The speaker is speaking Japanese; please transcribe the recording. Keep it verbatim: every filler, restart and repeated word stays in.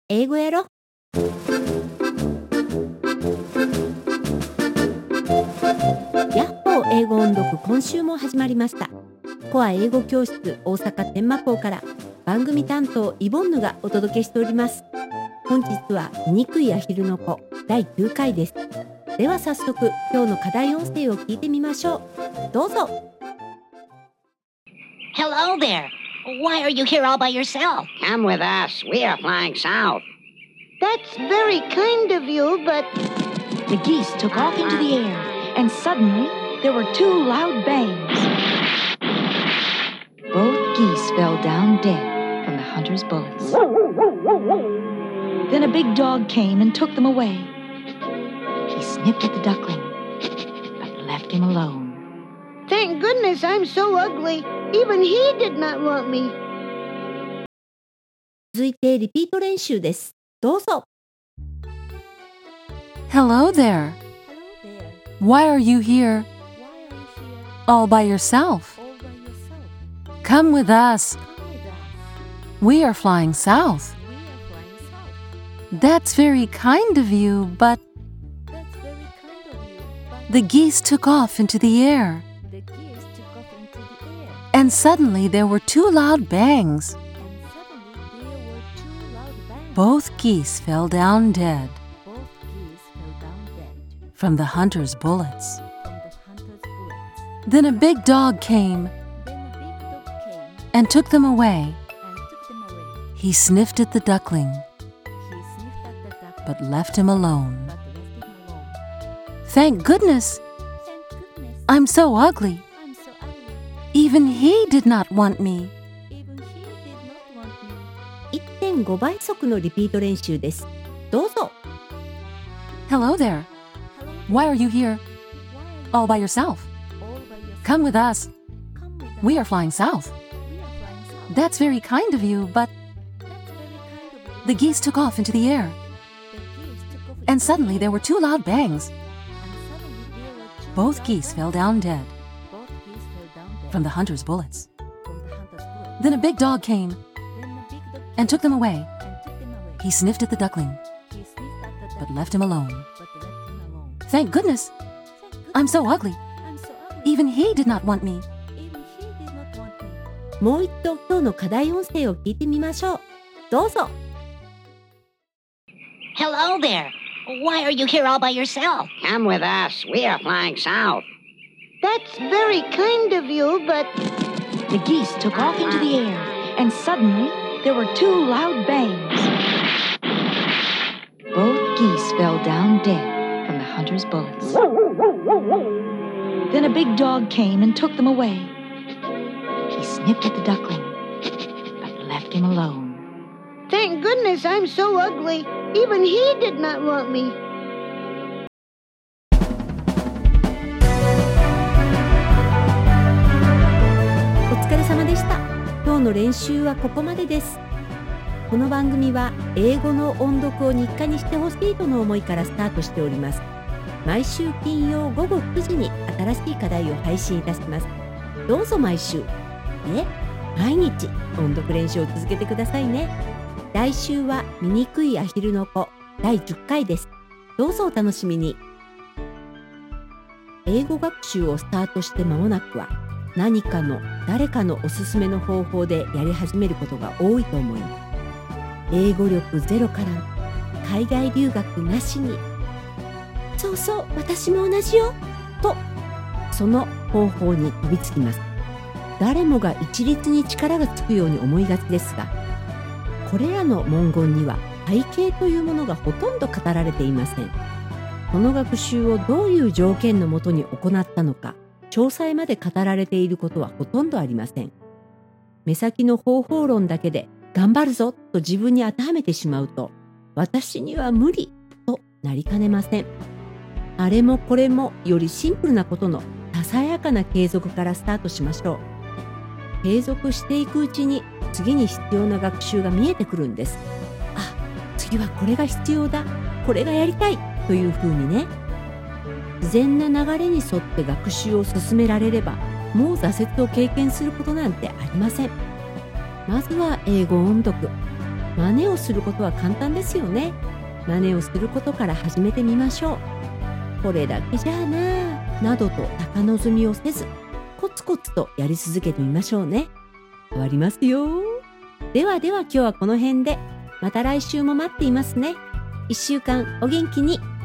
英語やろ。ヤッホー英語音読、今週も始まりました。コア英語教室大阪天満校から番組担当イボンヌがお届けしております。本日は醜いアヒルの子だいきゅうかいです。では早速今日の課題音声を聞いてみましょう。どうぞ。 Hello there. Why are you here all by yourself? Come with us. We are flying south. That's very kind of you, but... The geese took off into the air, and suddenly there were two loud bangs. Both geese fell down dead from the hunter's bullets. Then a big dog came and took them away. He sniffed at the duckling, but left him alone. Thank goodness I'm so ugly. Even he did not want me. 続いてリピート練習です。どうぞ。 Hello there. Why are you here all by yourself? Come with us. We are flying south. That's very kind of you, but the geese took off into the air. And suddenly there were two loud bangs. Both geese fell down dead from the hunter's bullets. Then a big dog came and took them away. He sniffed at the duckling, but left him alone. Thank goodness, I'm so ugly. Even he did not want me. いってんご 倍速のリピート練習です。どうぞ。 Hello there. Why are you here all by yourself? Come with us. We are flying south. That's very kind of you, but the geese took off into the air. And suddenly there were two loud bangs. Both geese fell down dead from the hunter's bullets. Then a big dog came and took them away. He sniffed at the duckling, but left him alone. Thank goodness, I'm so ugly. Even he did not want me. もう一度今日の課題音声を聞いてみましょう。どうぞ。 Hello there. Why are you here all by yourself? Come with us. We are flying south. That's very kind of you, but... The geese took off into the air, and suddenly there were two loud bangs. Both geese fell down dead from the hunter's bullets. Then a big dog came and took them away. He sniffed at the duckling, but left him alone. Thank goodness I'm so ugly. Even he did not want me. お疲れ様でした。今日の練習はここまでです。この番組は英語の音読を日課にしてほしいとの思いからスタートしております。毎週金曜ごごくじに新しい課題を配信いたします。どうぞ毎週、え、毎日音読練習を続けてくださいね。来週は醜いアヒルの子だいじゅっかいです。どうぞお楽しみに。英語学習をスタートして間もなくは何かの誰かのおすすめの方法でやり始めることが多いと思います。英語力ゼロから海外留学なしに、そうそう私も同じよとその方法に飛びつきます。誰もが一律に力がつくように思いがちですが、これらの文言には背景というものがほとんど語られていません。この学習をどういう条件のもとに行ったのか、詳細まで語られていることはほとんどありません。目先の方法論だけで頑張るぞと自分に当てはめてしまうと、私には無理となりかねません。あれもこれもよりシンプルなことのささやかな継続からスタートしましょう。継続していくうちに次に必要な学習が見えてくるんです。あ、次はこれが必要だ、これがやりたいというふうにね。自然な流れに沿って学習を進められれば、もう挫折を経験することなんてありません。まずは英語音読。 真似をすることは簡単ですよね。真似をすることから始めてみましょう。これだけじゃあな、などと高望みをせず、コツコツとやり続けてみましょうね。変わりますよ。ではでは今日はこの辺で、また来週も待っていますね。一週間お元気に。